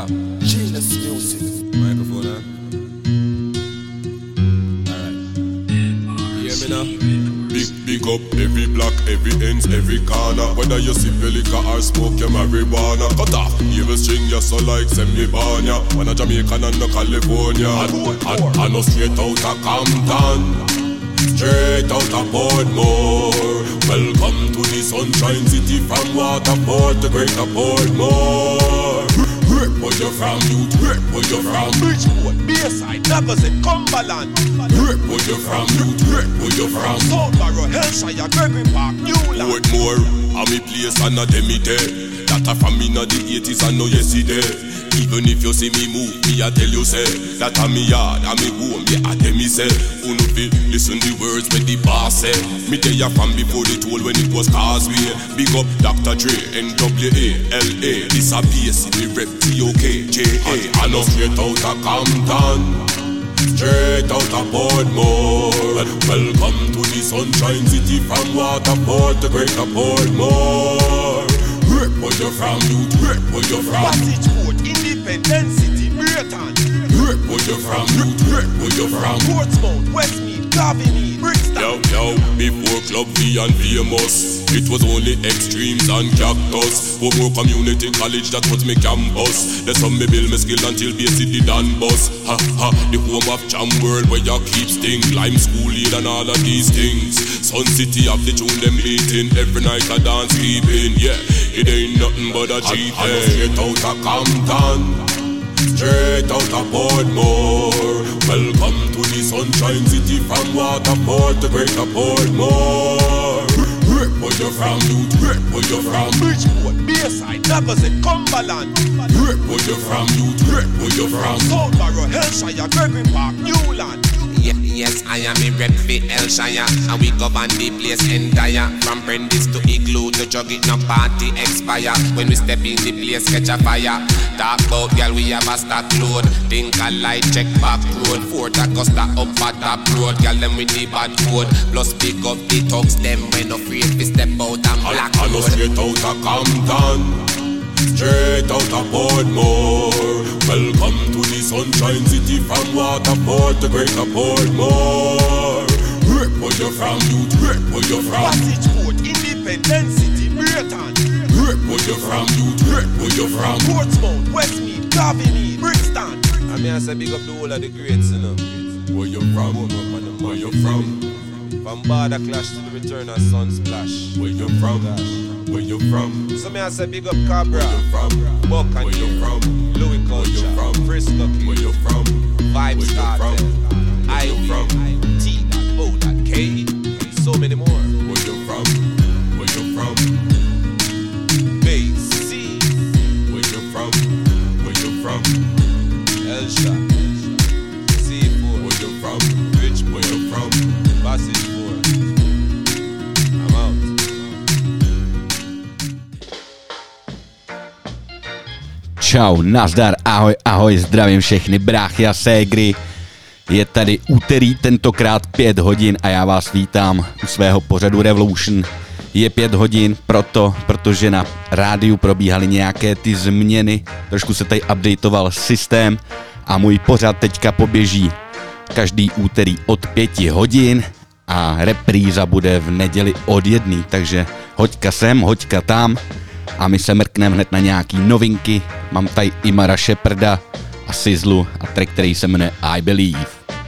Yeah, genius music. Microphone, huh? Alright. You hear me now? Big up every block, every ends, every corner. Whether you sip your liquor or smoke your marijuana. Cut off, evil string you so like semi-banya. When a Jamaican and no California. And no straight out of Compton, straight out of Portmore. Welcome to the Sunshine City from Waterport, the greater Portmore. Where you from, youth? Where you from? Bridgeport, Bayside, Lagos and Cumberland. Where you from, youth? Where you from? Southborough, Hellshire, Gregory Park, Newland. Portmore, I'm a place and a demi day. That a from in the 80s and no yesterday. Even if you see me move, me I tell you say that I'm me yard, I'm me home, yeah I tell me say. Who no fit listen the words when the boss say. Me tell ya from before the toll when it was Causeway. Big up Dr. Dre, NWA, LA. This a PS, me rep TOK, JA. I know straight out of Compton, straight out of Portmore. Welcome to the Sunshine City from Waterport, the greater Portmore. Where you from, youth? Where you from? Passageport, Independence City, Brereton. Where you from, youth? Where you from? Portsmouth, Westmead, Garviney, Brixton. Yo, before Club V and Famous, it was only Extremes and Cactus. More Community College, that was me campus. That's how me build my skill until basically done bus. Ha ha, the home of Jam World where you keep sting. Lime School Lead and all of these things. Sun City have the tune them beating. Every night I dance keeping, yeah. It ain't nothing but a G-thing. Straight out of Compton, straight out of Portmore. Welcome to the Sunshine City from Waterport, the greater Portmore. Where you from, youth? Where you from? Bridgeport, Bayside, Lagos and Cumberland. Where you from, youth? Where you from? Southborough, Hellshire, Gregory Park, Newland. Yes, I am in rep for Hellshire, and we govern the place entire. From Prentice to Igloo to Jugget, no party expire. When we step in the place, catch a fire. Talk about girl, we have a stock load. Think a light, check back road. Fort Augusta up at top road. Girl, them with the bad code. Plus pick up the thugs, them when afraid to step out and black road. I know straight out of Compton, straight out of Portmore. Welcome to the Sunshine City from Waterport, the greater Portmore. Where you from, youth? Where you from? Passageport, Independence City, Brereton. Where you from, youth? Where you from? Portsmouth, Westmead, Garviney, Brixton. I mean I say big up the whole of the greats, you know. Where you from? Where you from? From Border Clash to the return of Sunsplash. Where you from? Where you from? So me I say big up Cabra, where you from? Buck and where you from? Louis Culture, where you from? Frisco Kid, where you from? Vibes Cartel, Ivy, T.O.K, so many more. Where you from? Where you from? Bay C. Where you from? Where you from? Elsha, C4. Where you from? Rich, where you from? Passage 4. I'm out. Čau, nazdar, ahoj, ahoj, zdravím všechny bráchy a ségry. Je tady úterý, tentokrát 5 hodin a já vás vítám u svého pořadu Revolution. Je 5 hodin protože na rádiu probíhaly nějaké ty změny, trošku se tady updateoval systém a můj pořad teďka poběží každý úterý od 5 hodin a repríza bude v neděli od 1, takže hoďka sem, hoďka tam a my se mrkneme hned na nějaký novinky. Mám tady Imara Sheparda a Sizzlu a track, který se jmenuje I Believe.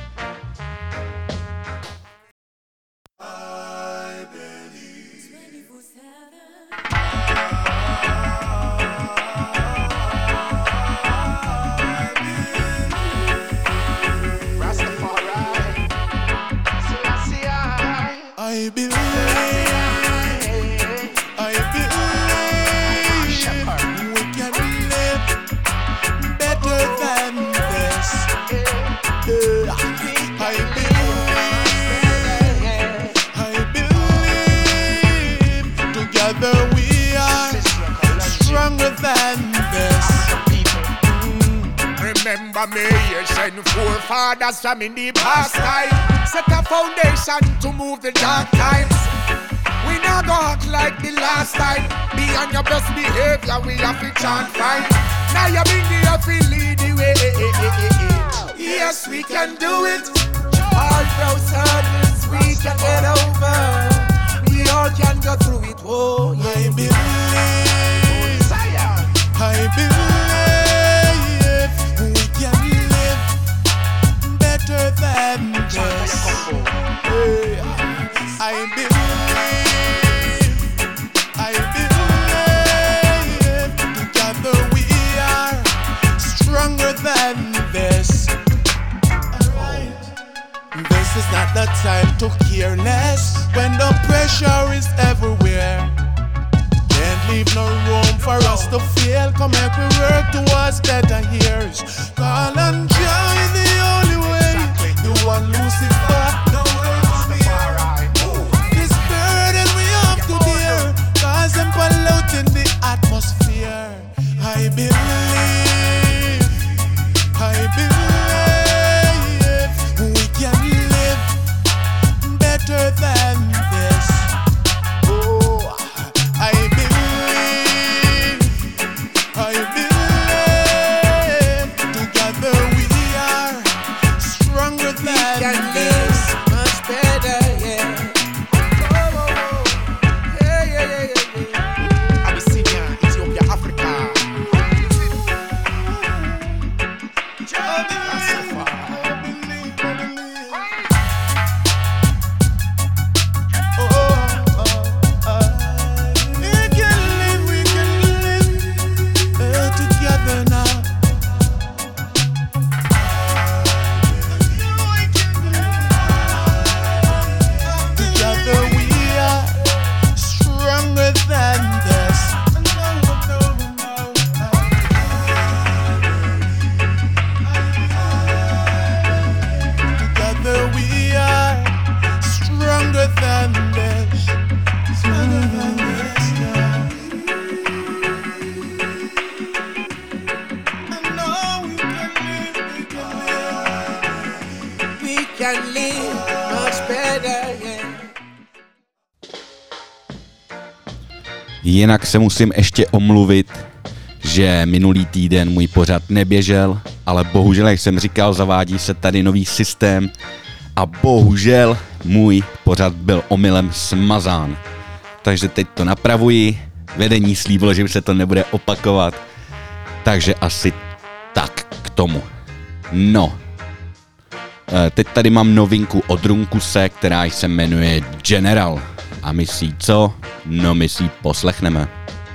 Remember me, ancient forefathers from in the past time. Set a foundation to move the dark times. We not go act like the last time. Be on your best behavior, we have to chant fight. Now you bring the up and lead the way. Yes, we can do it. All those hurdles we can get over. We all can go through it. Oh, yeah. I believe we can live better than this. I believe together we are stronger than this. This is not the time to care less when the pressure is everywhere. Can't leave no room for us to fail. Come make we work towards better years. Call and join the only way. The one Lucifer, the way to be alright. This burden we have to bear, cause them polluting the atmosphere. I believe we can live better than this. Oh, I believe together we are stronger than this. Much better, yeah. Yeah. Abyssinia, Ethiopia, Africa. We can live together now. Together we are stronger than this. Together we are stronger than this. Stronger than this, yeah. I know we can live Much better, yeah. Jinak se musím ještě omluvit, že minulý týden můj pořad neběžel, ale bohužel, jak jsem říkal, zavádí se tady nový systém a bohužel můj pořad byl omylem smazán. Takže teď to napravuji, vedení slíbilo, že se to nebude opakovat, takže asi tak k tomu. No, teď tady mám novinku od Runkuse, která se jmenuje General. A my si co? No my si poslechneme.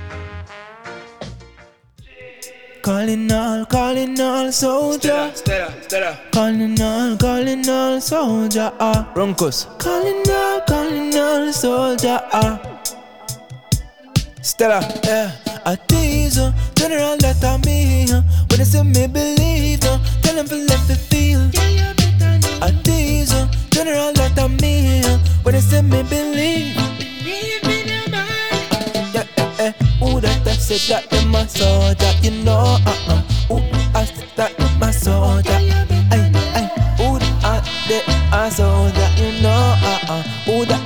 Calling all soldier. Calling all soldier. Runkus. Calling all soldier. Stella, yeah. I tease her, general that I me. When they say me believe, tell them to let me feel. I tease her, general that I me. When they say me believe. Ooh, that I said that in my soldier, you know, Ooh, I said that in my soldier, ooh, that I soldier, you know, Ooh, that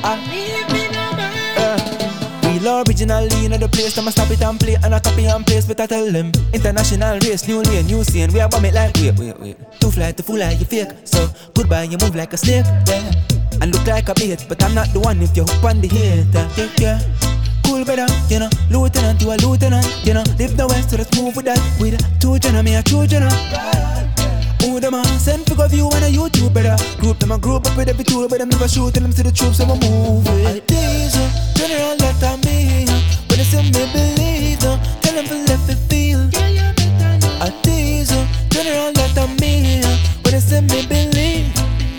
real originally in the place, I'ma stop it and play, and I copy and paste, but I tell them, international race, new lane, new scene, we are bomb it like, wait, too fly to fool like you fake, so goodbye, you move like a snake, yeah, and look like a bait, but I'm not the one if you hook on the hater, yeah. Cool better, you know, lieutenant, you a lieutenant, you know, live the west, so let's move with that, with two general, me a two general. Who them a send for view on a YouTube better. Group them a group up with every tool, but them never shoot, tell them to the troops, so we move it. I diesel, general that I me, when they say me believe, tell them to let me feel. I diesel, general that I me, when they say me believe.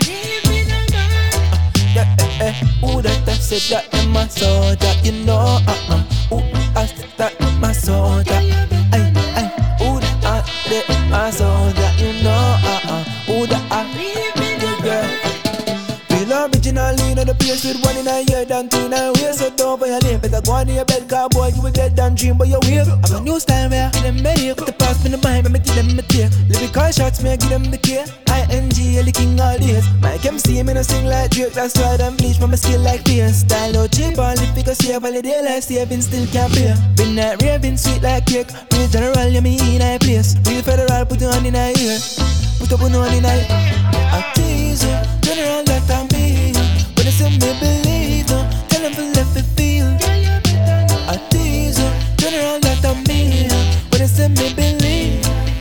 Ooh, that I said that in my soldier, you know, Ooh, I said that in my soldier, Ooh, that my soldier, you know, Ooh, that yeah. Feel originally in the place with one in a year, than two in a way, so don't violate. Better go on in your bed, cowboy, you will get down. you wave. I'm a new style where I give them better. Put the past in the mind, but I give them a tear. Lyrical shots, me I give them the care. ING, the king all days. Mike MC, me no sing like Drake. That's why them bleach from my skill like beer. Style no cheap, only because save all the day like saving still can't pay. Been that raving sweet like cake. Real general, you me in a place. Real federal, put you on in a ear. Put up on in a I tease you, general that I'm me. When they say me believe you, tell them to let me feel. I tease you, general that I'm me. When they say me believe.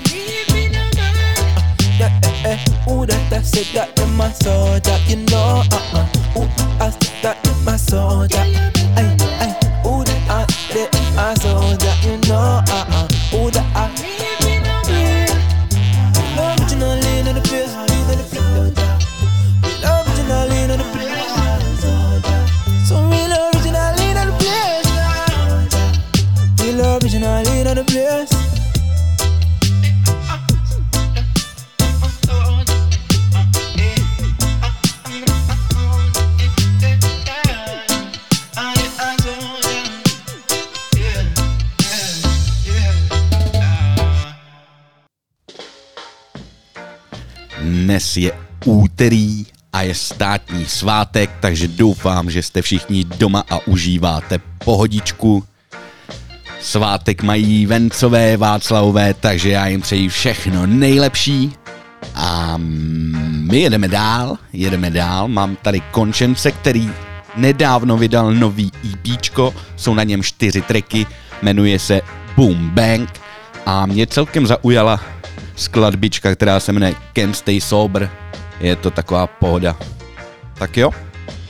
Ooh, that I said that in my soldier, you know, Ooh, I said that in my soldier. Ooh, that I said in my soldier, you know, Ooh, that I. Originally in the place, originally in the place. So real originally in the place. Real originally in the place. Dnes je úterý a je státní svátek, takže doufám, že jste všichni doma a užíváte pohodičku. Svátek mají Vencové, Václavové, takže já jim přeji všechno nejlepší. A my jedeme dál. Mám tady Končence, který nedávno vydal nový EPčko, jsou na něm 4 tracky, jmenuje se Boom Bang a mě celkem zaujala skladbička, která se jmenuje Can't Stay Sober. Je to taková pohoda. Tak jo.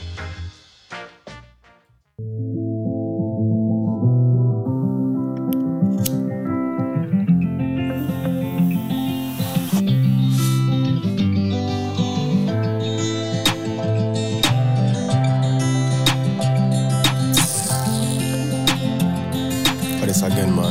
This again, man.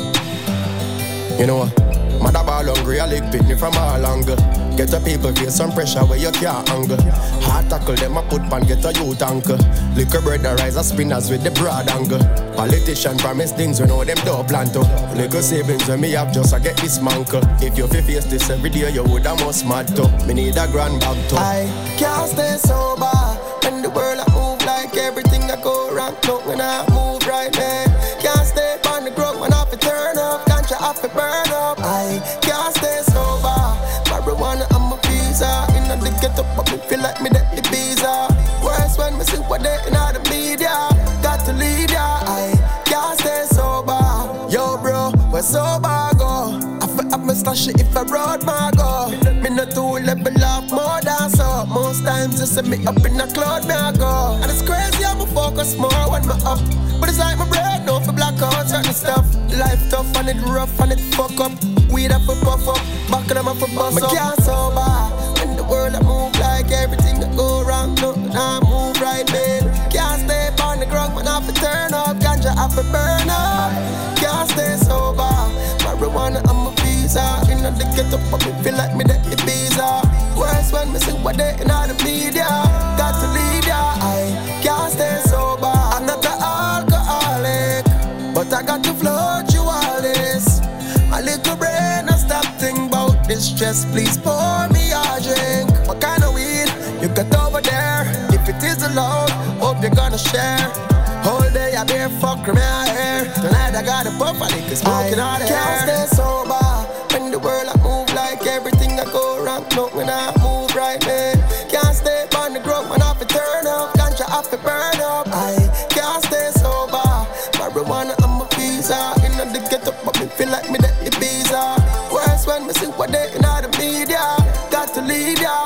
You know what? Mother ball hungry, I lick picnic from all angle. Get the people feel some pressure where you can't angle. Hard tackle them, I put pan, get a youth anchor. Liquor bread, the rise of spinners with the broad angle. Politician promise things, we know them don't plan to. Little savings when me have just, I get this manker. If you face this every day, you would have most mad to. Me need a grand bag to. I can't stay sober. When the world I move like everything I go wrong. Look when I move right, man. Can't stay on the ground when I have to turn up. Can't you have to burn up? I can't stay sober. Marijuana on my visa. In the ghetto, but me feel like me that the visa. Worse when me see what they in all the media. Got to lead ya. I can't stay sober. Yo, bro, where sober go? I feel up my stash if I road my go. Me not too level up more than so. Most times you see me up in the cloud, me I go. And it's crazy how me focus more when me up. But it's like my brain, no for black out certain stuff. Life tough and it rough and it fuck up. Weed up for puff up, back of them up for bust up. Me can't sober. When the world I move like everything that go wrong, no, I move right, man. Can't stay on the ground, man, I have to turn up. Ganja have to burn up. Can't stay sober. Marijuana on my visa. In the ghetto, but me feel like me that the visa. Worse when me see what they in all the media. Got to lead ya. I can't stay sober. I'm not an alcoholic, but I got to float you all this. My little brain, I stop thinking about this stress. Please pour me a drink. What kind of weed you got over there? If it is allowed, hope you're gonna share. Whole day I bear fuck from my hair. Tonight I got a puff, I think it's smoking all the hair. Can't stay sober. When the world I move like everything I go wrong. No, when I move right, man. Can't stay on the ground, when I have to turn up. Ganja have to burn up. I can't stay sober. Marijuana on my visa. In the ghetto, but me feel like me that the visa. Worse when me see what they in all the media. Got to lead ya.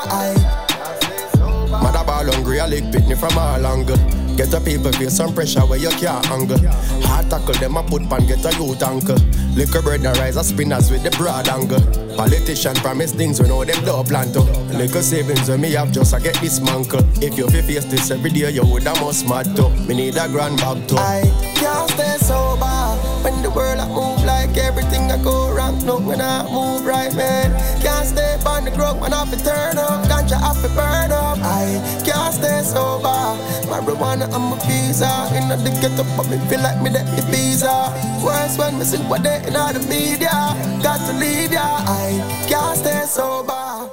Mother ball hungry, I lick picnic from all angle. Get the people feel some pressure where you can't angle. Hard tackle them, I put pan, get a youth anchor. Liquor bread, the rise of spinners with the broad angle. Politician promise things, we know them don't plan to. Little savings when me have just, I get this manker. If you face this every day, you would have most mad to. Me need a grand bag to. I can't stay sober. When the world I move like everything I go wrong. No, when I move right, man. Can't stay on the ground when I have to turn up. Ganja have to burn up. I can't stay sober. Marijuana and my visa. In the ghetto, but me feel like me that the visa. Worse when me see what they in all the media. Got to leave ya. I can't stay sober.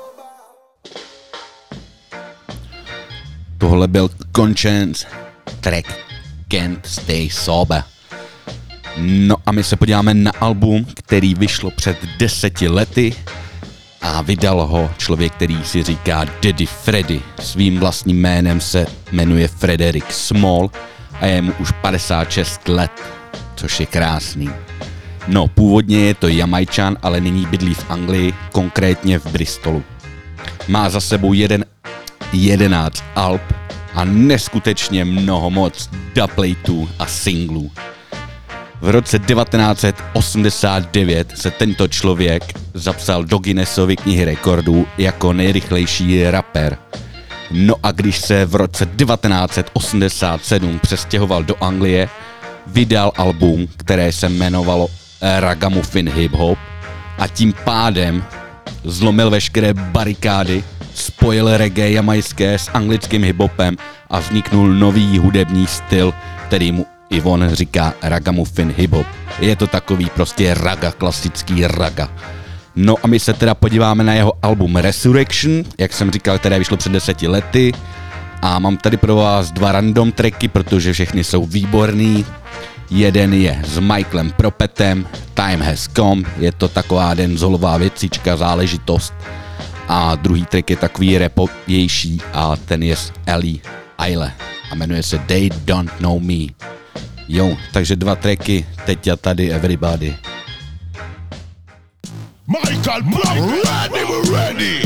Tohle byl Conscience, track Can't Stay Sober. No a my se podíváme na album, který vyšlo před 10 lety a vydal ho člověk, který si říká Daddy Freddy. Svým vlastním jménem se jmenuje Frederick Small a je mu už 56 let, což je krásný. No, původně je to Jamajčan, ale nyní bydlí v Anglii, konkrétně v Bristolu. Má za sebou 11 alb a neskutečně mnoho moc dubplatů a singlů. V roce 1989 se tento člověk zapsal do Guinnessovy knihy rekordů jako nejrychlejší rapper. No a když se v roce 1987 přestěhoval do Anglie, vydal album, které se jmenovalo Ragamuffin Hip Hop a tím pádem zlomil veškeré barikády, spojil reggae jamajské s anglickým hiphopem a vzniknul nový hudební styl, který mu i on říká Ragamuffin hip-hop. Je to takový prostě raga, klasický raga. No a my se teda podíváme na jeho album Resurrection, jak jsem říkal, které vyšlo před 10 lety. A mám tady pro vás 2 random tracky, protože všechny jsou výborný. Jeden je s Michaelem Propetem, Time Has Come, je to taková dancehallová věcička, záležitost. A druhý track je takový rapovější a ten je s Ellie Aile a jmenuje se They Don't Know Me. Jo, takže 2 tracky, teď a tady everybody. Michael Black, ready, we're ready.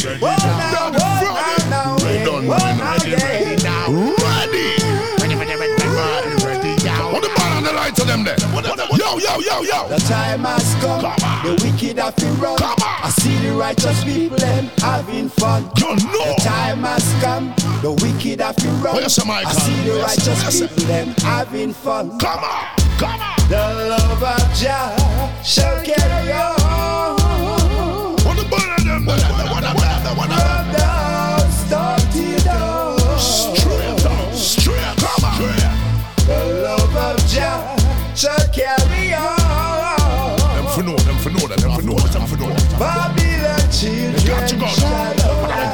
What the ball on the line to them there? Yo. The time has come, the wicked have to run. I see the righteous people them having fun. You know. The time has come, the wicked have to run. I see the righteous people them having fun. Come on. The love of Jah shall carry on. What the ball on them there? From down, start to down. Straight, come on. The love of Jah shall carry on. Them for know. Babylon children shall arise.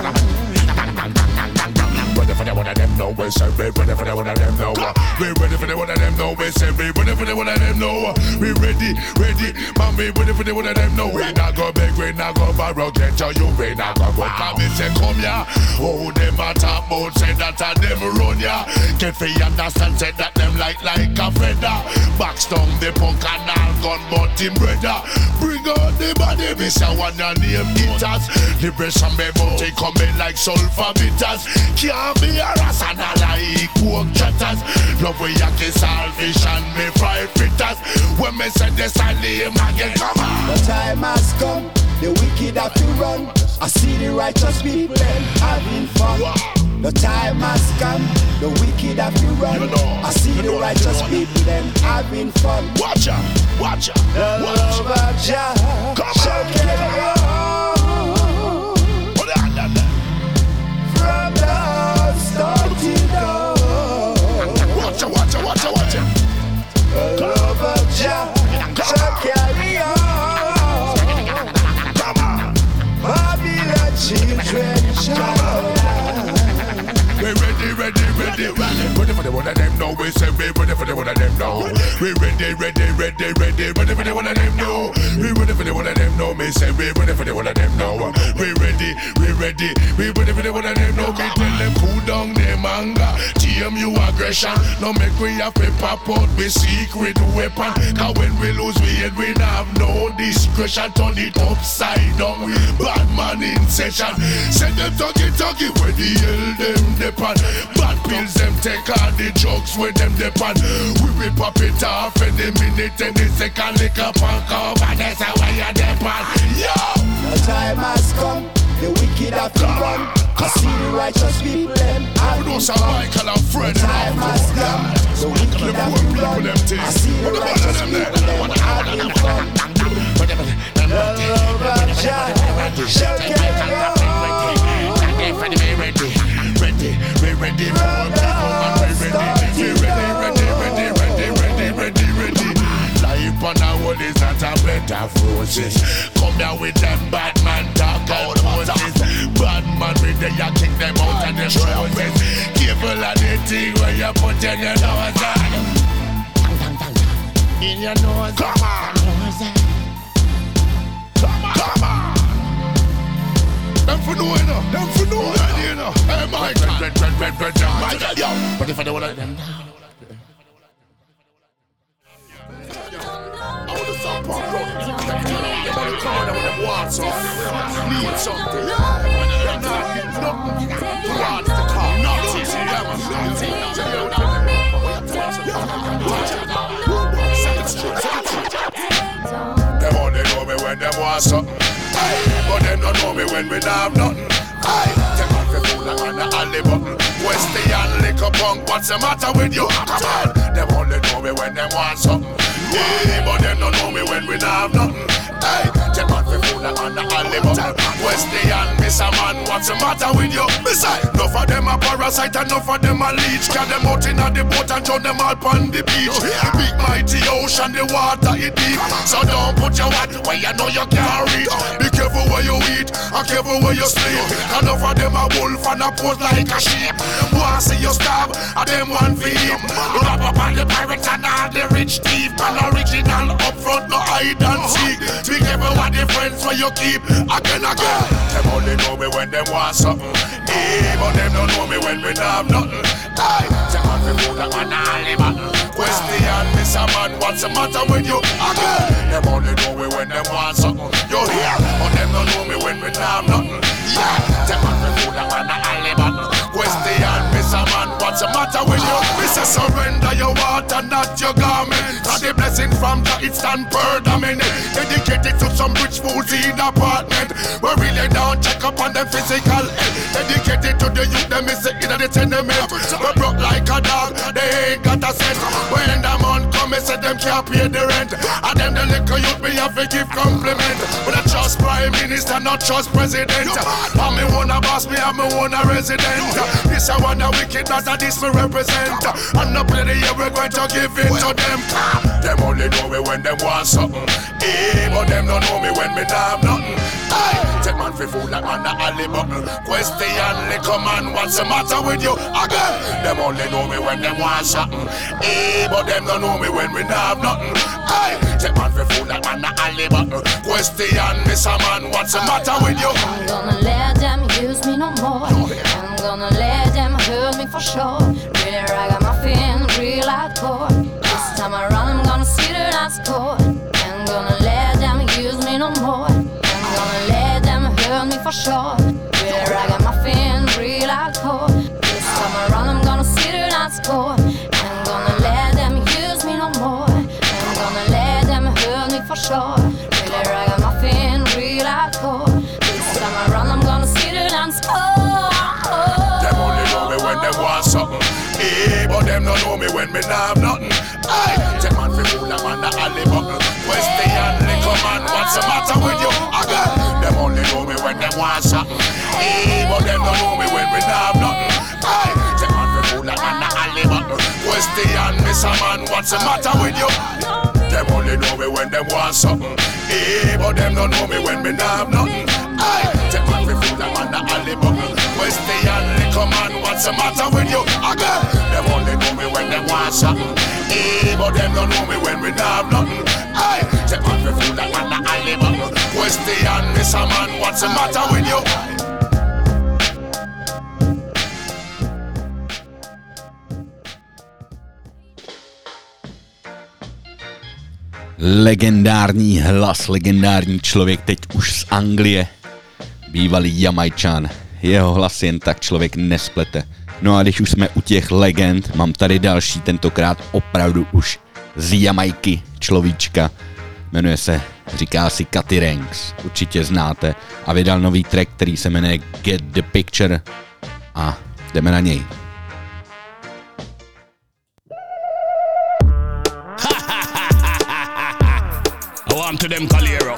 Ready for the one of them now, we say we ready for the one of them now. We ready for the one of them now, we say we ready for the one of them now. We ready, man, we ready for the one of them now. We not go beg, we not go borrow, get you, we not go go. Come and say come ya, oh them a talk about, say that a them run ya. Get for you understand, say that them like a feather. Box down the punk and all gun, but him brother. Bring out the body, me say one your name eaters. Liberation me bounty coming like sulfur bitters. Can't be a ras and a like pork chatters. Love we a kiss salvation, me fried fritters. When me say this I name again, come on. The time has come, the wicked have to run. I see the righteous people them having fun. The time has come, the wicked have to run. I see the righteous people them having fun. Watch out. The love of Jah shall carry on. From the start to dawn. Watch out. The love of Jah shall carry on. Come on. Babylon children shall arise. We ready. Ready for the one of them now. We say we ready for the one of them now. We ready for the one of them now. We ready for the one of them now. Me say we ready for the one of them now. We ready for the one of them now. Me tell them cool down them anger, tame you aggression. Now make we have to pop out with secret weapon. Cause when we lose we head we have no discretion. Turn it upside down. Bad man in session. Send them talkie where the hell them depend. Bad pills them take all the drugs with them depend. We will pop it off any minute, any second. Lick up and come and that's how I depend. Yo! The time has come, the wicked have to run. I see the righteous people them having fun. Michael and Fred. The time has come, the wicked have to run. I see the righteous people them having fun. The love of Jah shall carry on. a whole is at a bed of roses. Come here with them bad man talk and Moses. Bad man with the ya kick them out of them roses. Careful of the thing where you put in your nose on. In your nose. Come on. Come on. Them for know, you know. Them for know, you know. Hey, my God. Yo, but if I don't want them down. I want to stop pop rock. Everybody come on with them want something. Need something. They're not getting nothing. Want the car. Not easy. Them only know me when them want something. But them don't know me when we don't have nothing. Take off your food like on the alley button. Westian liquor punk, what's the matter with you? Come on. Them only know me when them want something. But them don't know me when we don't have nothing. Take off your food like on the alley button. Westian, Miss a man, what's the matter with you? Besides, enough of them a parasite, enough of them a leech. Carry them out in the boat and throw them all on the beach. The big mighty ocean, the water it deep. So don't put your hat where you know you can't reach. Be careful where you eat, and careful where you sleep. Enough of them a wolf and a pose like a sheep. Want see you starve, and them one for him. Wrap up on the pirates and all the rich thief. And original up front, no hide and seek. Be careful what the friends where you keep. Again. Them only know me when them want something. But them don't know me when we don't have nothing. Take off the food like an alley button. Question, Miss a man, what's the matter with you? Again. Them only know me when them want something. You hear? But them don't know me when we don't have nothing. Take off the food like an alley button. Question, Miss a man, what's the matter with you? Miss a surrender your water, not your garment. Cause the blessing from the it stand permanent. Dedicated to some rich fools in apartment. We really don't check up on them physical health. Dedicated to the youth, them is in the tenement. We broke like a dog, they ain't got a cent. When the man come, me say them can't pay the rent. And them the little youth, me have to give compliment. But I trust prime minister, not trust president. And me wanna boss, me and me wanna resident. This I want a wicked, that's a this me represent. And no play the year, we're going to give it to them. Them only know me when them want something. But them don't know me when me don't have nothing. Take man for food like on the alley button. Question, liquor man, what's the matter with you? Again, them only know me when them want something. But them don't know me when we don't have nothing. Take man for food like on the alley button. Question, Miss a man, what's the matter with you? I'm gonna let them use me no more. I'm gonna let them hurt me for sure. Really ragamuffin, real hardcore. This time around I'm gonna see that I score. I'm gonna let them use me no more. I'm gonna let them hurt me for sure. Really ragamuffin, real hardcore. This time around I'm gonna see that I score. I'm gonna let them use me no more. I'm gonna let them hurt me for sure. Really ragamuffin, real hardcore. This time around I'm gonna see that I score. Them only know me when them want something. But them don't know me when me don't have nothing. Take man for food, I'm on the alley button. Question, liquor man, what's the matter with you? Again, them only know me when them want something. But them don't know me when we don't have nothing. Take man for food, I'm on the alley button. Question, Miss a man, what's the matter with you? Them only know me when them want something. But them don't know me when we don't have nothing. Take man for food, I'm on the alley button. Question, liquor man, what's the matter with you? Again, them only know me when them want something. But them don't know me when we don't have nothing. Take man for food, I'm on the alley button. Question, Miss a man, what's the matter with you? Legendární hlas, legendární člověk, teď už z Anglie, bývalý Jamajčan. Jeho hlas jen tak člověk nesplete. No a když už jsme u těch legend, mám tady další, tentokrát opravdu už z Jamajky človíčka. Jmenuje se, říká si Cutty Ranks, určitě znáte. A vydal nový track, který se jmenuje Get the Picture. A jdeme na něj. I to them Calero.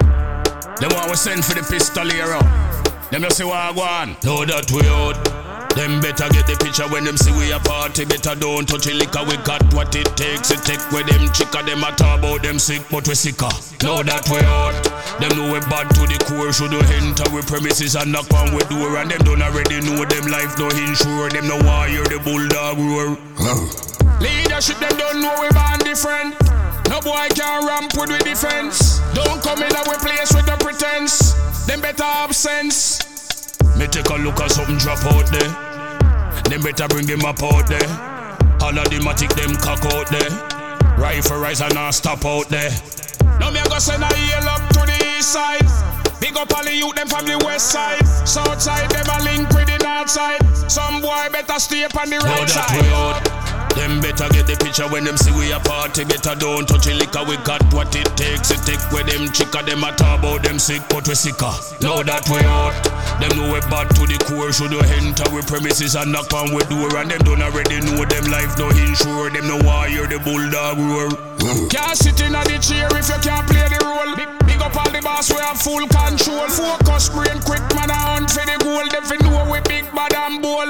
Them want we send for the pistolero. Them just say what I want. Know that we out. Them better get the picture when them see we a party. Better don't touch the liquor, we got what it takes. It take with them chicker, them a talk about them sick, but we sicker. Know that we hot. Them know we bad to the core. Should we enter we premises and knock on we door. And them don't already know them life no insure. Them no want hear the bulldog roar. Leadership them don't know we born different. No boy can ramp with defense. Don't come in our place with the pretense. Them better have sense. Me take a look at something drop out there. Them better bring them up out there. All of them a tick them cock out there. Rifle rise and not stop out there. Now me a go send a yell up to the east side. Big up all the youth them from the west side. South side them a link with the north side. Some boy better stay up on the right side. Them better get the picture when them see we a party. Better don't touch the liquor, we got what it takes. It take with them chicker, them a talk about them sick, but we sicker. Know that we hot. Them know we bad to the core. Should we enter we premises and knock on we door. And them don't already know them life no insure. Them no want hear the bulldog roar. Can't sit in the chair if you can't play the role. Big up all the boss, we have full control. Focus, brain quick, man a hunt for the goal. Them fi know we big bad and bold.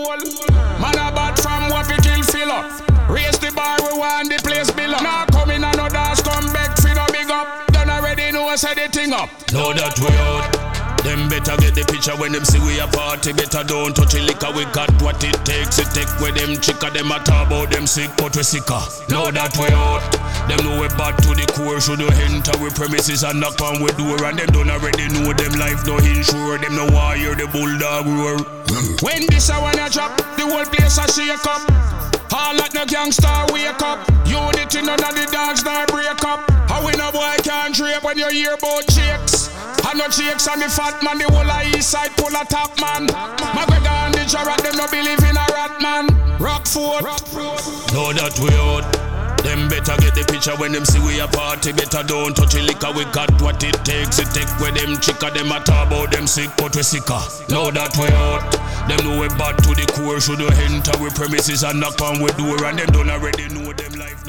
Man a bad from what we kill fill up. Raise the bar, we want the place below. Now come in and no dance, come back for no big up. Don't already know I set the thing up. Know that we out. Them better get the picture when them see we a party. Better don't touch the liquor, we got what it takes. It take with them chicker, them a talk about them sick, but we sicker. Know that we out. Them know we bad to the core. Should we enter we premises and knock on we door. And them don't already know them life no insure. Them no want hear the bulldog roar. When this a wanna drop, the whole place a shake up. All like no gangster wake up. Unity none of the dogs now break up. How we no boy can't drape when you hear about chicks. I know chicks and the fat man, the whole of east side pull a top man. McGregor and the Jarrett, them no believe in a rat man. Rockford, know that we out. Them better get the picture when them see we a party. Better don't touch the liquor, we got what it takes. It take with them chicker, them a talk about them sick, but we sicker. Know that we out. Them know we bad to the core. Should we enter we premises and knock on we door. And them don't already know them life no.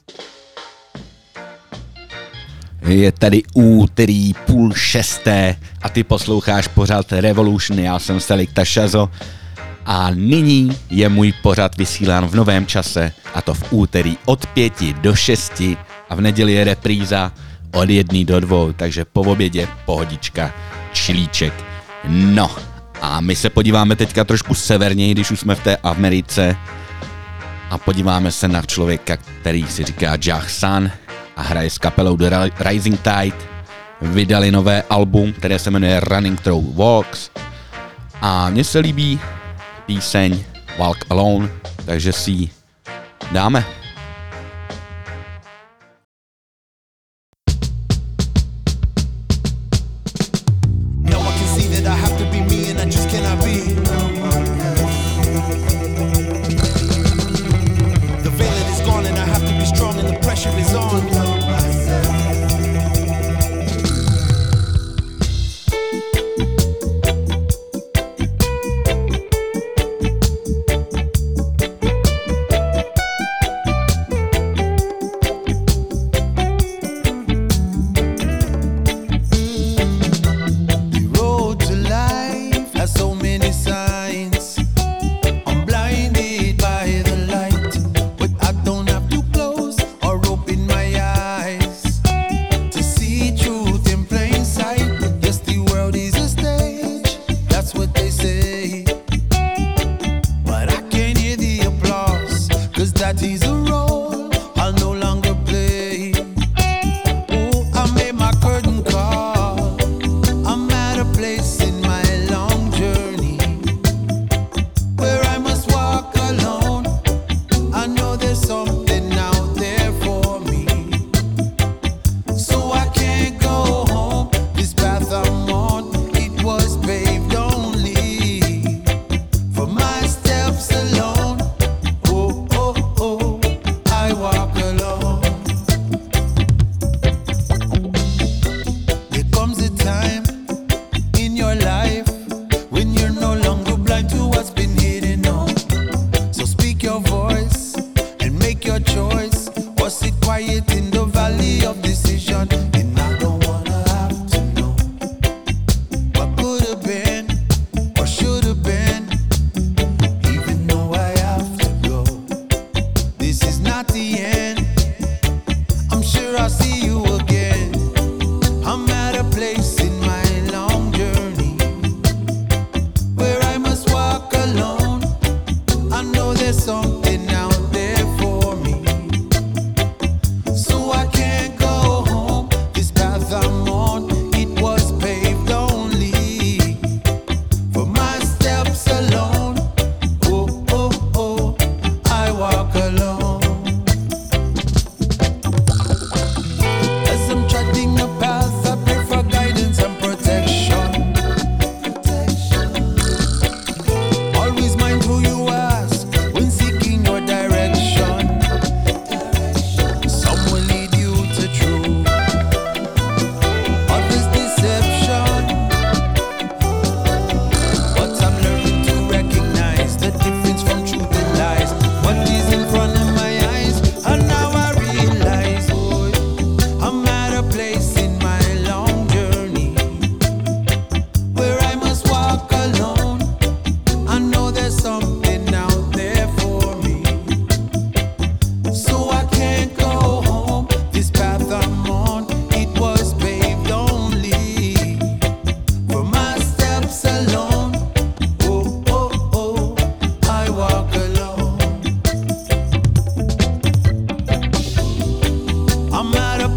Je tady úterý 5:30 a ty posloucháš pořad Revolution, já jsem Selecta Shazo a nyní je můj pořad vysílán v novém čase, a to v úterý od 5 do 6 a v neděli je repríza od 1 do 2, takže po obědě pohodička, čilíček. No a my se podíváme teďka trošku severněji, když už jsme v té Americe, a podíváme se na člověka, který si říká Jah Sun a hraje s kapelou The Rising Tide. Vydali nové album, které se jmenuje Running Through Walks a mně se líbí píseň Walk Alone, takže si ji dáme.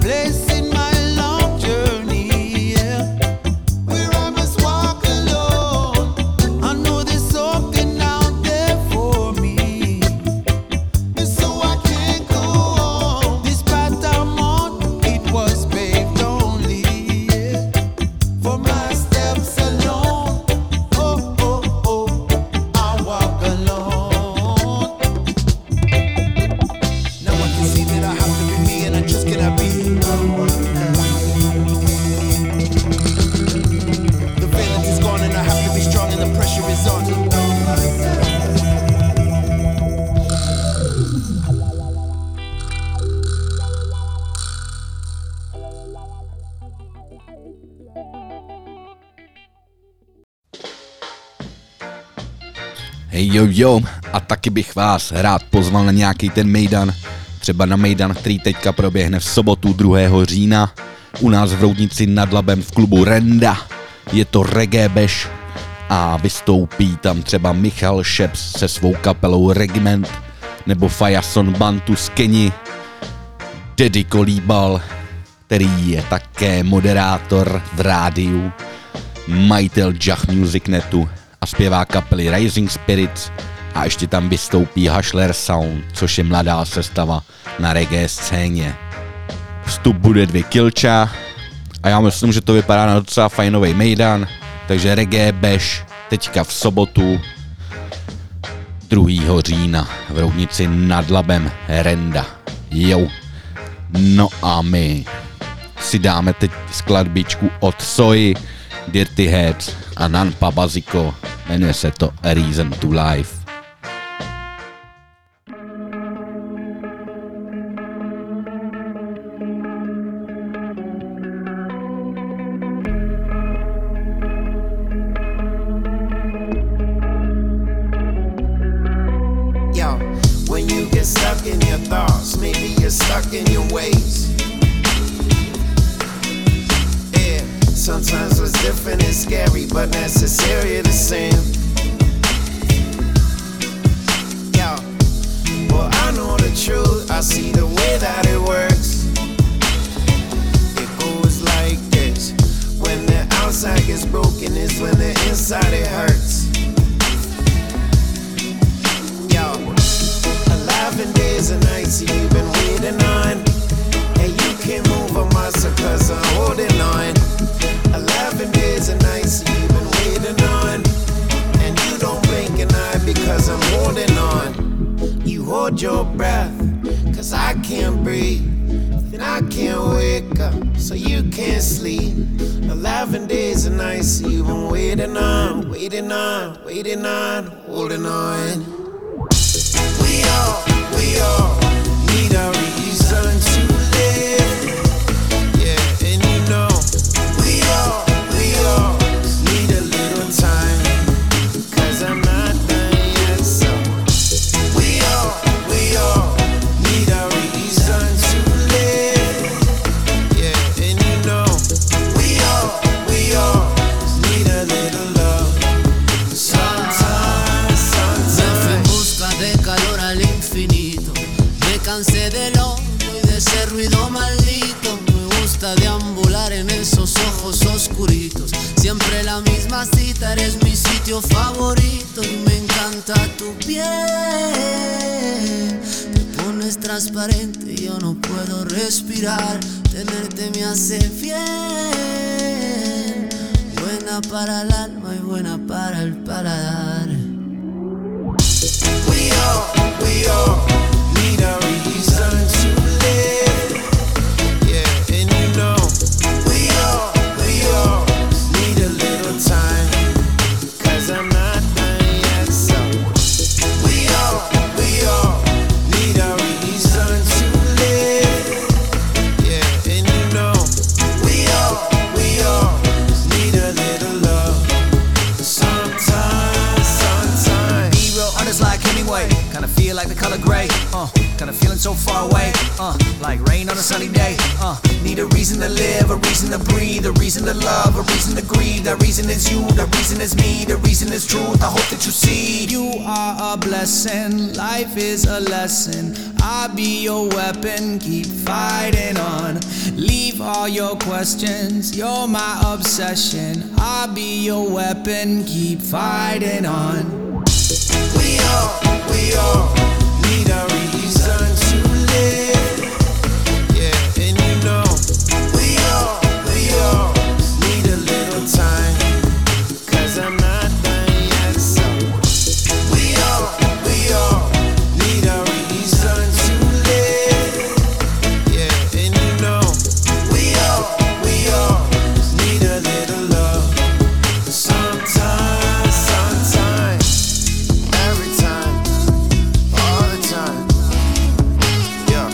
place in my long journey, yeah, where I must walk alone. I know there's something out there for me, and so I can't go on. This path I'm on, it was paved only, yeah, for my steps alone. Oh, oh, oh, I walk alone. Now I can see that I have to be me, and I just cannot be. The valence is gone, and I have to be strong, and the pressure is on. Hej jo, a taky bych vás rád pozval na nějaký ten mejdan, třeba na mejdan, který teďka proběhne v sobotu 2. října u nás v Roudnici nad Labem v klubu Renda. Je to reggae bash a vystoupí tam třeba Michal Šeps se svou kapelou Regiment nebo Fajason Bantu z Keni, Daddy Kolíbal, který je také moderátor v rádiu, majitel Jah Music Netu a zpěvá kapely Rising Spirits, a ještě tam vystoupí Hashler Sound, což je mladá sestava na reggae scéně. Vstup bude 2 kilča a já myslím, že to vypadá na docela fajnový mejdan, takže reggae bash teďka v sobotu 2. října v Roudnici nad Labem Renda. Jo. No a my si dáme teď skladbičku od Soy, Dirty Heads a Nanpa Baziko, jmenuje se to A Reason to Life. Yo, when you get stuck in your thoughts, maybe you're stuck in your ways. Yeah, sometimes what's different is scary, but necessary the same. Yo, well, I know the truth, I see the way that it works. It goes like this: when the outside gets broken, is when the inside it hurts. Yo, 11 days and nights you've been waiting on, and you can't move a muscle 'cause I'm holding on. 11 days and nights you've been waiting on, and you don't blink an eye because I'm holding on. You hold your breath 'cause I can't breathe, and I can't wake up so you can't sleep. 11 days and nights you've been waiting on, waiting on, waiting on, holding on. We all need a reason to live. Yeah, and you know, we all need a little time, 'cause I'm not done yet, so we all need a reason to live. Yeah, and you know, we all need a little love. Sometimes. En busca de calor al infinito, me cansé del hondo y de ese ruido maldito. Me gusta deambular en esos ojos oscuritos, siempre la misma cita, eres mi sitio favorito. Y me encanta tu piel, te pones transparente y yo no puedo respirar. Tenerte me hace fiel, buena para el alma y buena para el paladar. We all need a reason to live. Yeah, and you know, we all need a little time, 'cause I'm not done yet, so we all need a reason to live. Yeah, and you know, we all need a little love. Sometimes. Be real honest like Hemingway, kinda feel like the color gray, kinda feeling so far away, like rain on a sunny day, need a reason to live, a reason to breathe, a reason to love, a reason to grieve. That reason is you, that reason is me, the reason is truth. I hope that you see. You are a blessing, life is a lesson. I'll be your weapon, keep fighting on. Leave all your questions, you're my obsession. I'll be your weapon, keep fighting on. We all need a reason to live. Yeah, and you know, we all need a little time. 'Cause I'm not done yet, so we all need a reason to live. Yeah, and you know, we all need a little love. Sometimes, every time, all the time. Yeah.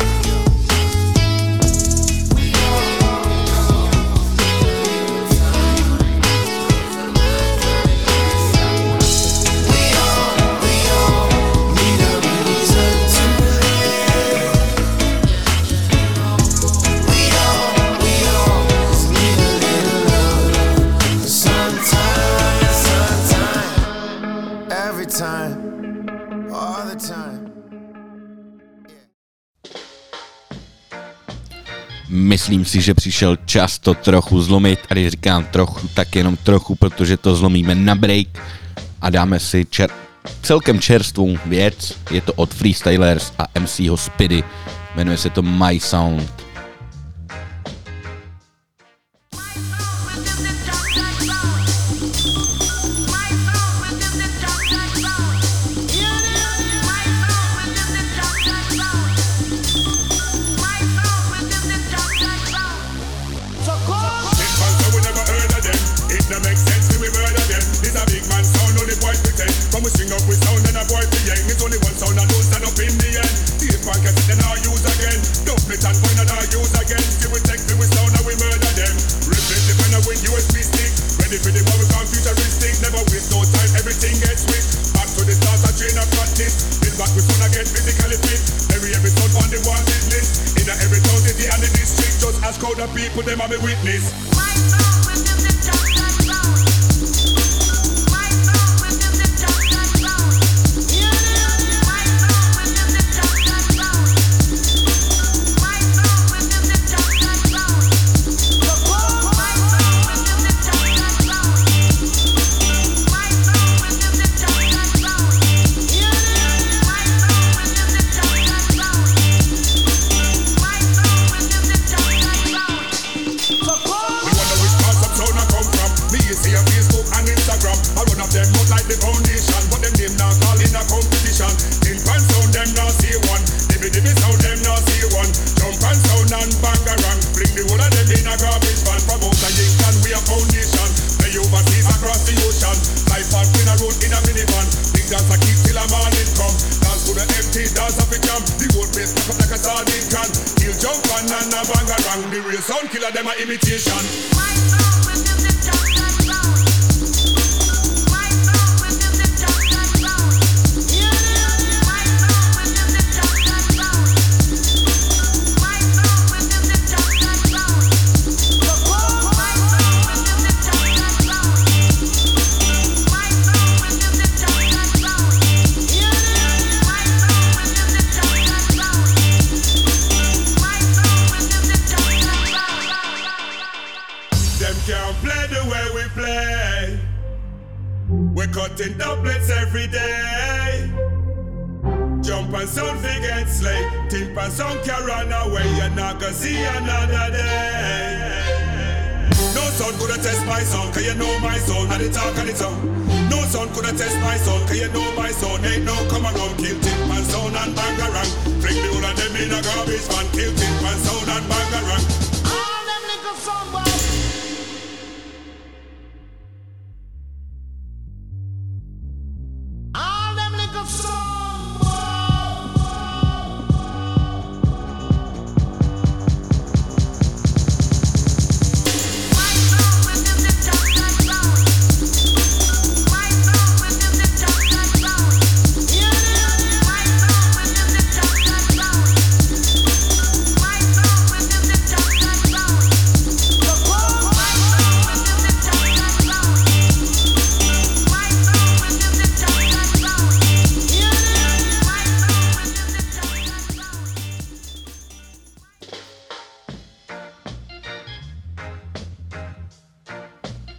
Every time, all the time. Myslím si, že přišel čas to trochu zlomit, a když říkám trochu, tak jenom trochu, protože to zlomíme na break a dáme si celkem čerstvou věc. Je to od Freestylers a MCho Speedy, jmenuje se to My Sound. We string up with sound and a boy to yang. It's only one sound and don't stand up in the end. The podcast then I'll use again. Don't split and point and I'll use again. Give we take with sound and we murder them. Replace the pen with USB stick. Ready for the one we call futuristic. Never waste no time, everything gets switched. Back to the start, a train of practice. Build back with fun again, physically fit. Every episode on the wanted list. In every town, city and the district. Just ask all the people, them are my witness. Sound killer, them a imitation. Cutting doublets every day. Jump and sound forget slay. Tip and sound can run away. You're not gonna see another day. No sound coulda test my sound, cause you know my sound. And the talk and the tongue. No sound coulda test my sound, cause you know my sound. Ain't no come around. Kill tip and sound and bangarang. Fling the whole of them in a garbage van. Kill tip and sound and bangarang. All them niggas sound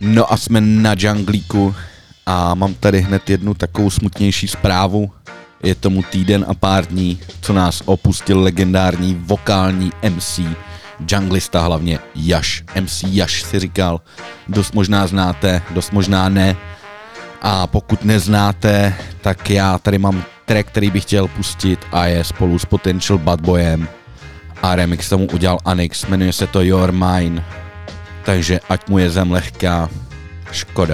No a jsme na džanglíku a mám tady hned jednu takovou smutnější zprávu. Je tomu týden a pár dní, co nás opustil legendární vokální MC, junglista hlavně Yash. MC Yash si říkal, dost možná znáte, dost možná ne. A pokud neznáte, tak já tady mám track, který bych chtěl pustit a je spolu s Potential Bad Boyem. A remix tomu udělal Anix, jmenuje se to Your Mine. Takže ať mu je zem lehká, škoda.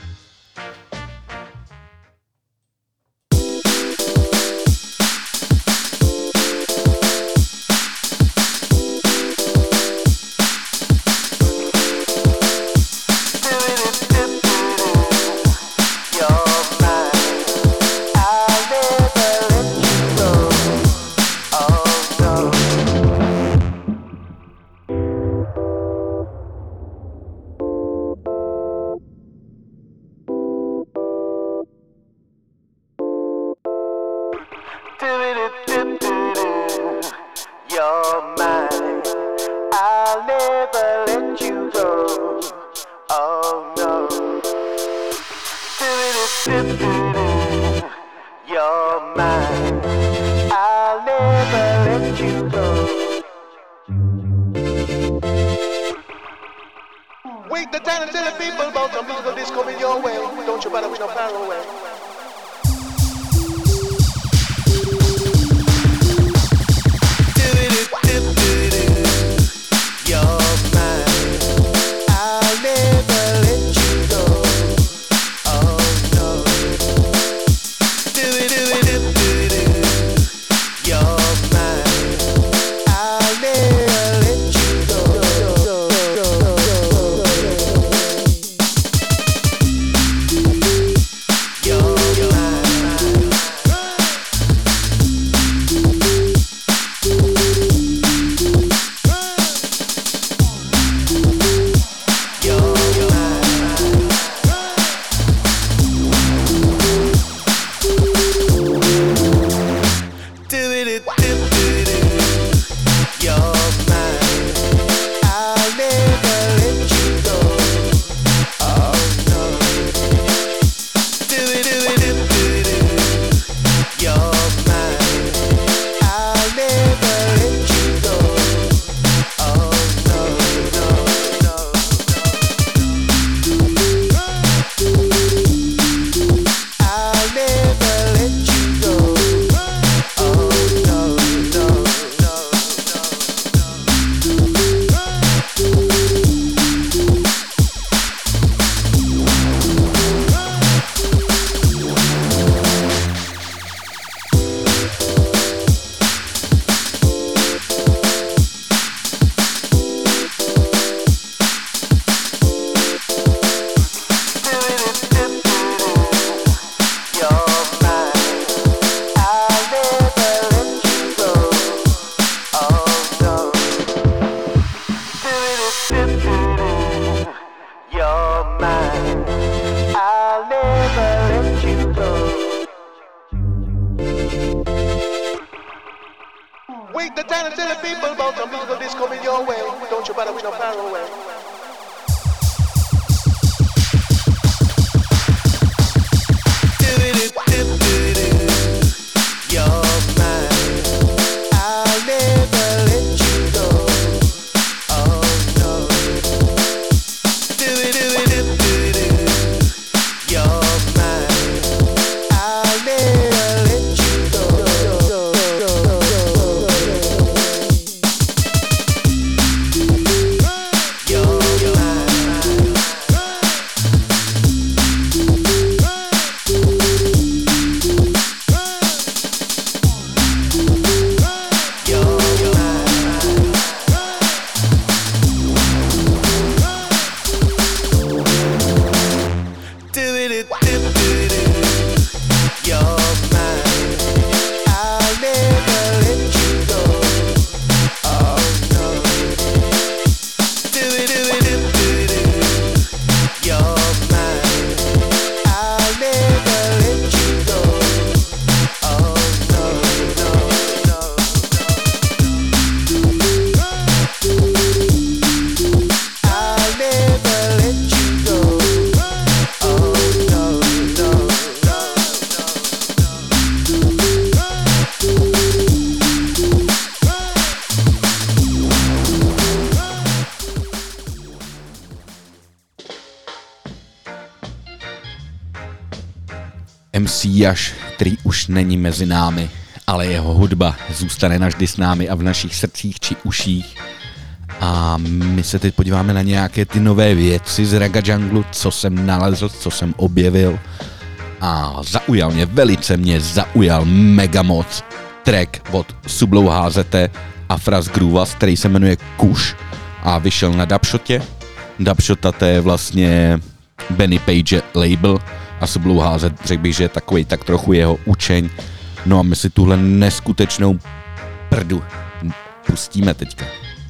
Wake the town and tell the people about the music that's coming your way. Don't you bother with no far away. Wake the town and tell the people about the music that's coming your way. Don't you bother with no far away. MC Yash, který už není mezi námi, ale jeho hudba zůstane navždy s námi a v našich srdcích či uších. A my se teď podíváme na nějaké ty nové věci z Raga Junglu, co jsem nalezl, co jsem objevil. A velice mě zaujal mega moc track od Sublou HZT a Fras Groovas, který se jmenuje Kush a vyšel na Dubshotě. Dubshota to je vlastně Benny Page label a Sublou HZ, řekl bych, že je takovej tak trochu jeho učeň. No a my si tuhle neskutečnou prdu pustíme teďka.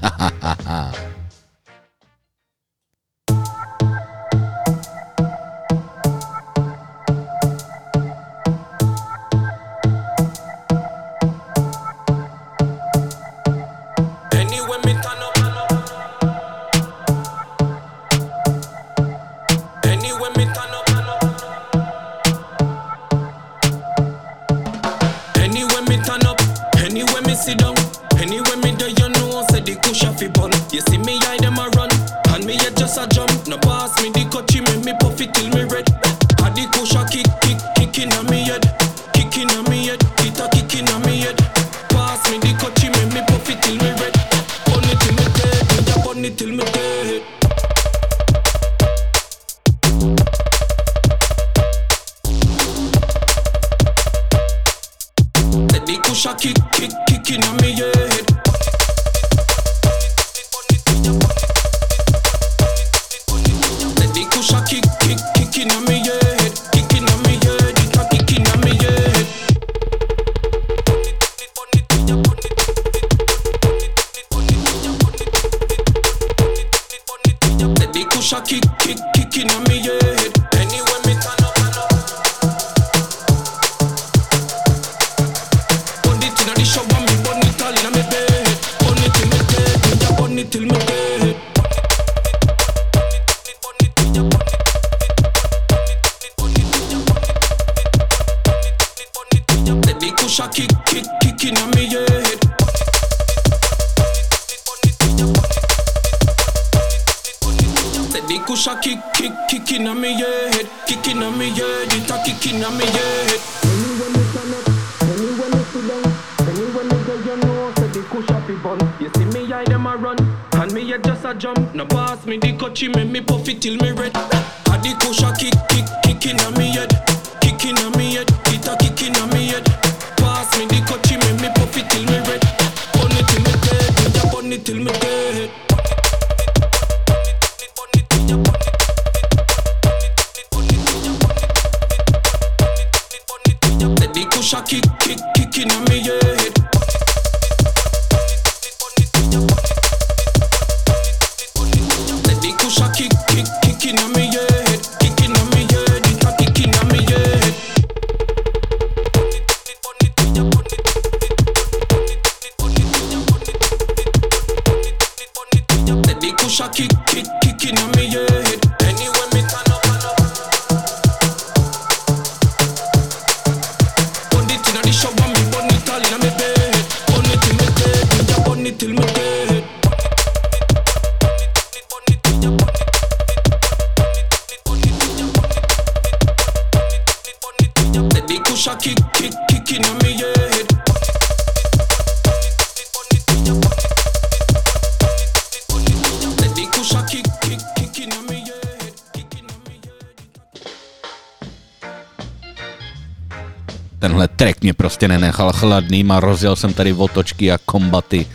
Tenhle track mě prostě nenechal chladným a rozjel jsem tady otočky a kombaty.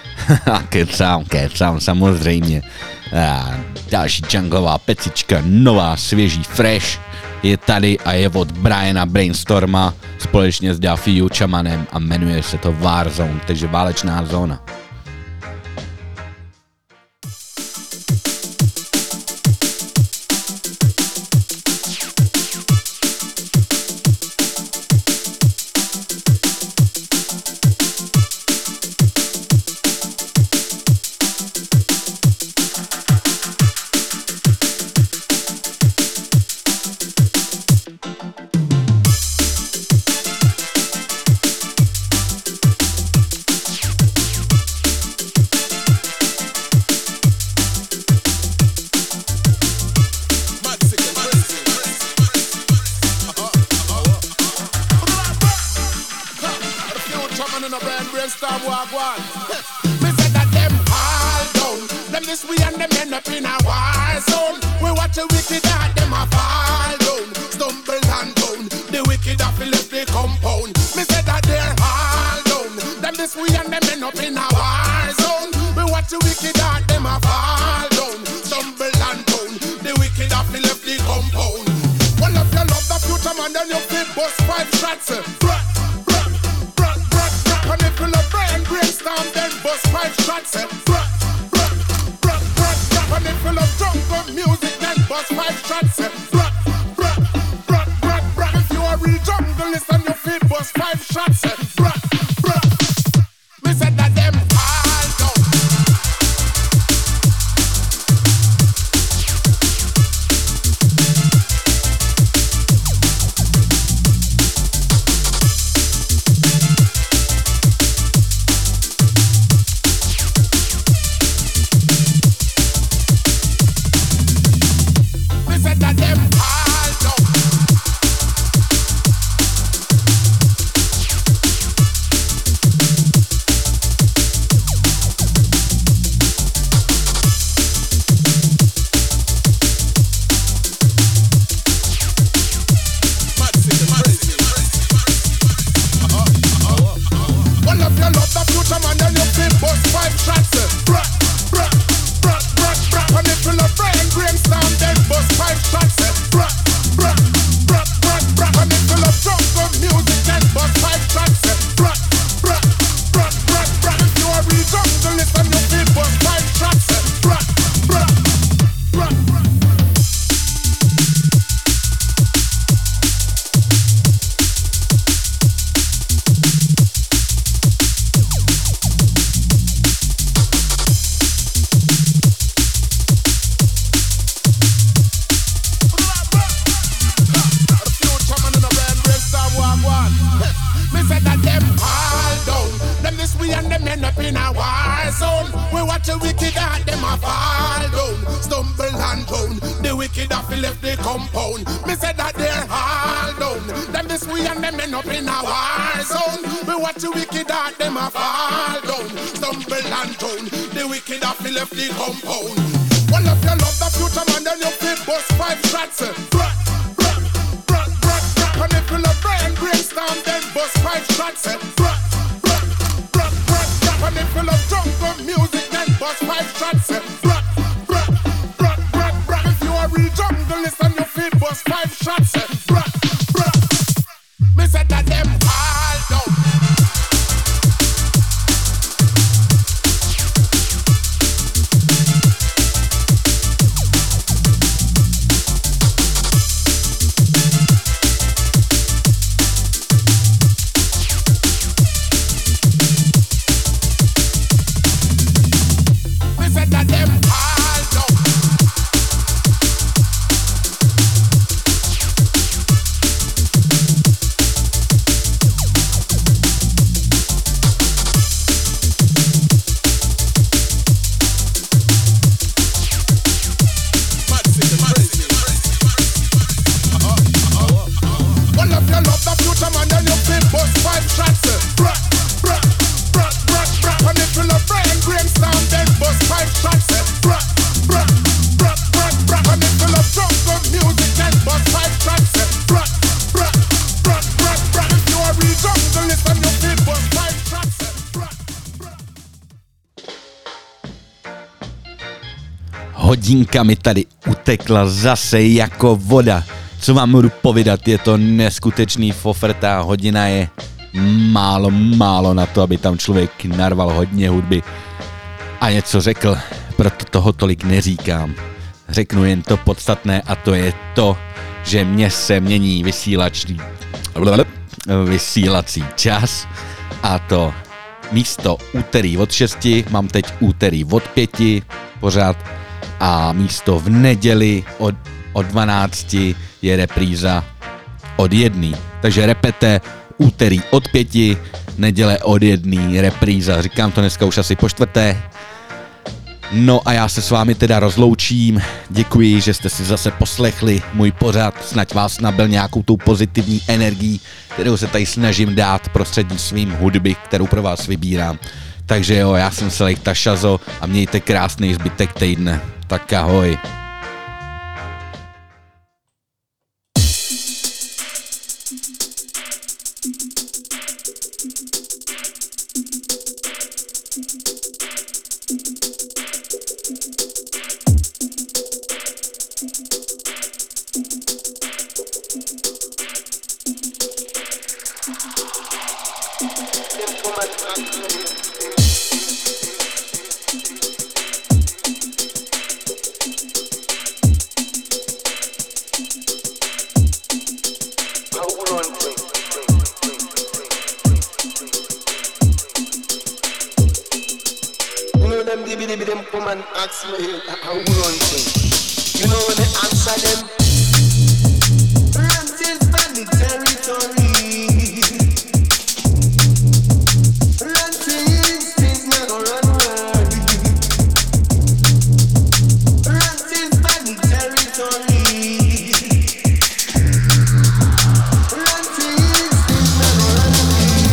Kecám, samozřejmě. A další junglová pecička, nová, svěží, fresh, je tady a je od Briana Brainstorma společně s Daffy Chamanem a jmenuje se to Warzone, takže válečná zóna. brainstorm walk one. Me said that them all down. Them this we and them end up in a war zone. We watch a wicked heart, them a fall down. Stumble and down. The wicked have left the compound. Me said that they're all down. Them this we and them end up in a war zone. We watch a wicked heart, them a fall down. Stumble and down. The wicked have left the compound. Well, if you love the future man, then you feel bust 5 shots. And if you love brainstorm, then bust 5 shots. And if you love jungle music, then bust 5 shots. If you are real junglist and you feel bust 5 shots. Me said that them all down. Hodinka mi tady utekla zase jako voda. Co vám budu povídat, je to neskutečný fofrtá, hodina je málo na to, aby tam člověk narval hodně hudby a něco řekl, proto toho tolik neříkám. Řeknu jen to podstatné a to je to, že mě se mění vysílací čas a to místo úterý od 6 mám teď úterý od 5 pořád a místo v neděli od 12 je repríza od 1. Takže repete úterý od 5, neděle od 1, repríza. Říkám to dneska už asi po 4. No a já se s vámi teda rozloučím. Děkuji, že jste si zase poslechli můj pořad. Snad vás nabil nějakou tou pozitivní energií, kterou se tady snažím dát prostřednictvím hudby, kterou pro vás vybírám. Takže jo, já jsem Selekta Šazo a mějte krásný zbytek týdne. Tak ahoj. Them come and ask me how we run things. You know when they answer them, France is my territory. France is things not gonna run wild. France is my territory. France is things not gonna run wild.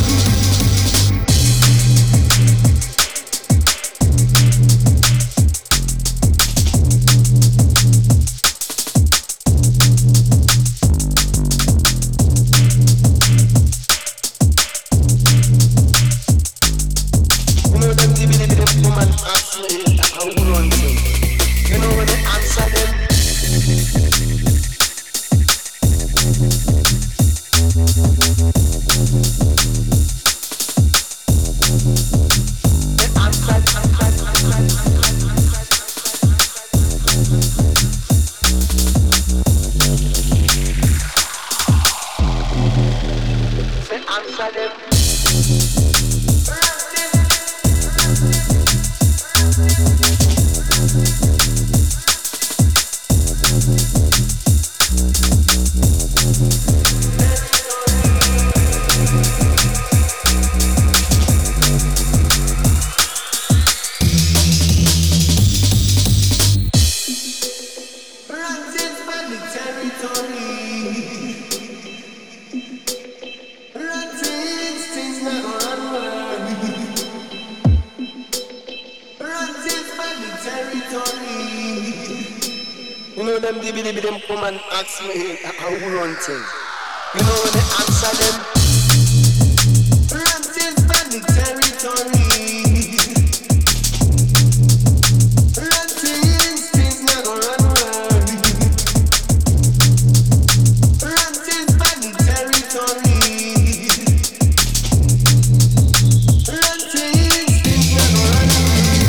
Them come and ask me how we run things. You know when they answer them, France is my territory. France is things not gonna run wild. France is my territory. France is things not gonna run wild.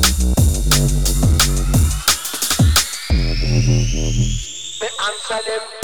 Answer them.